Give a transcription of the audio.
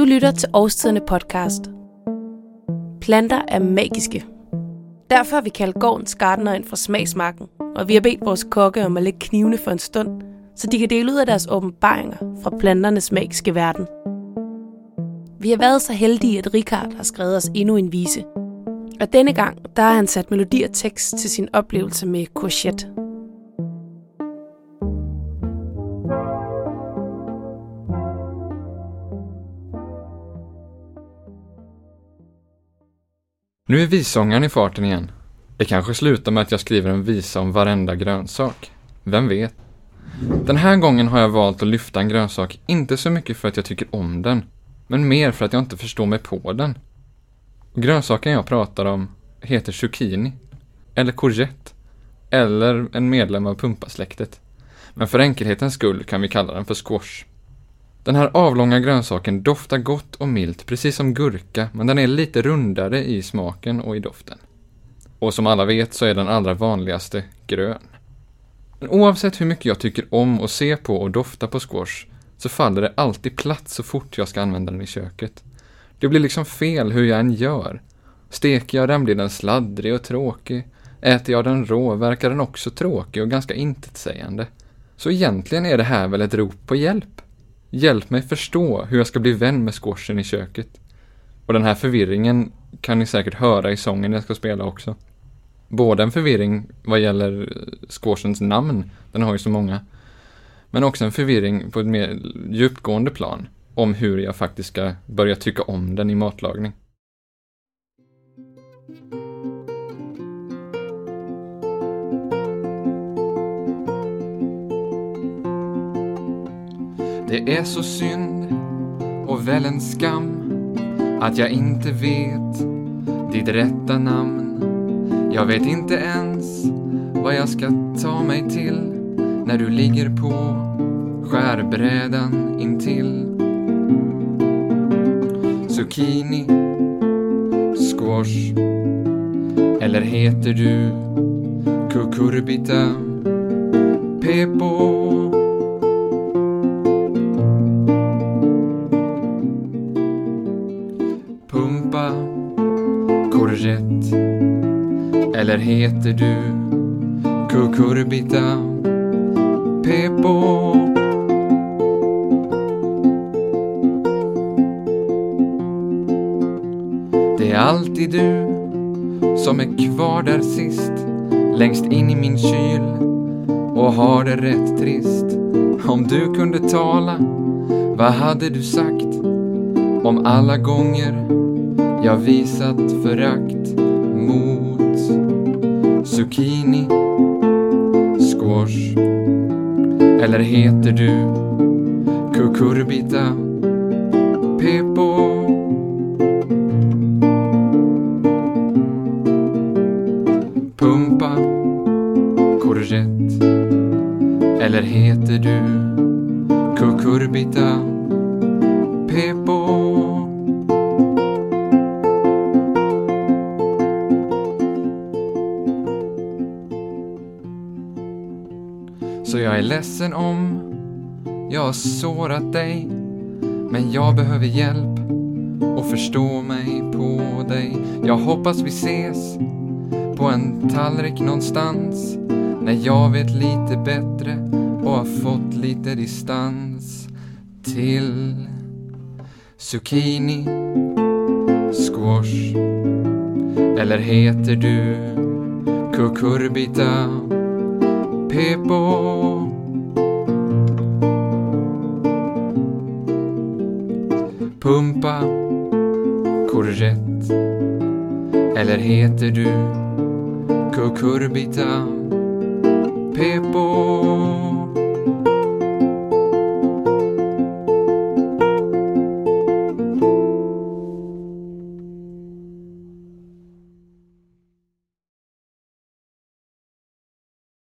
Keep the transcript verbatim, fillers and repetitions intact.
Du lytter til Årstiderne podcast. Planter er magiske. Derfor har vi kaldt gårdens gartner ind fra smagsmarken, og vi har bedt vores kokke om at lægge knivene for en stund, så de kan dele ud af deres åbenbaringer fra planternes magiske verden. Vi har været så heldige, at Richard har skrevet os endnu en vise. Og denne gang, der har han sat melodi og tekst til sin oplevelse med courgette. Nu är vissångaren i farten igen. Det kanske slutar med att jag skriver en visa om varenda grönsak. Vem vet? Den här gången har jag valt att lyfta en grönsak, inte så mycket för att jag tycker om den, men mer för att jag inte förstår mig på den. Och grönsaken jag pratar om heter zucchini, eller courgette, eller en medlem av pumpasläktet. Men för enkelhetens skull kan vi kalla den för squash. Den här avlånga grönsaken doftar gott och milt, precis som gurka, men den är lite rundare i smaken och i doften. Och som alla vet så är den allra vanligaste grön. Men oavsett hur mycket jag tycker om att se på och dofta på squash så faller det alltid platt så fort jag ska använda den i köket. Det blir liksom fel hur jag än gör. Steker jag den blir den sladdrig och tråkig. Äter jag den rå verkar den också tråkig och ganska intetsägande. Så egentligen är det här väl ett rop på hjälp. Hjälp mig förstå hur jag ska bli vän med squashen i köket. Och den här förvirringen kan ni säkert höra i sången jag ska spela också. Både en förvirring vad gäller squashens namn, den har ju så många. Men också en förvirring på ett mer djupgående plan om hur jag faktiskt ska börja tycka om den i matlagning. Det är så synd och väl en skam att jag inte vet ditt rätta namn. Jag vet inte ens vad jag ska ta mig till när du ligger på skärbrädan intill. Zucchini, squash, eller heter du cucurbita, pepo? Pumpa, courgette, eller heter du cucurbita, pepo? Det är alltid du som är kvar där sist, längst in i min kyl och har det rätt trist. Om du kunde tala, vad hade du sagt om alla gånger jag visat förakt mot zucchini, squash, eller heter du cucurbita, pepo? Pumpa, courgette, eller heter du cucurbita, pepo? Så jag är ledsen om jag har sårat dig, men jag behöver hjälp och förstå mig på dig. Jag hoppas vi ses på en tallrik någonstans när jag vet lite bättre och har fått lite distans till zucchini, squash, eller heter du cucurbita, pepo? Pumpa, courgette, eller heter du cucurbita, pepo?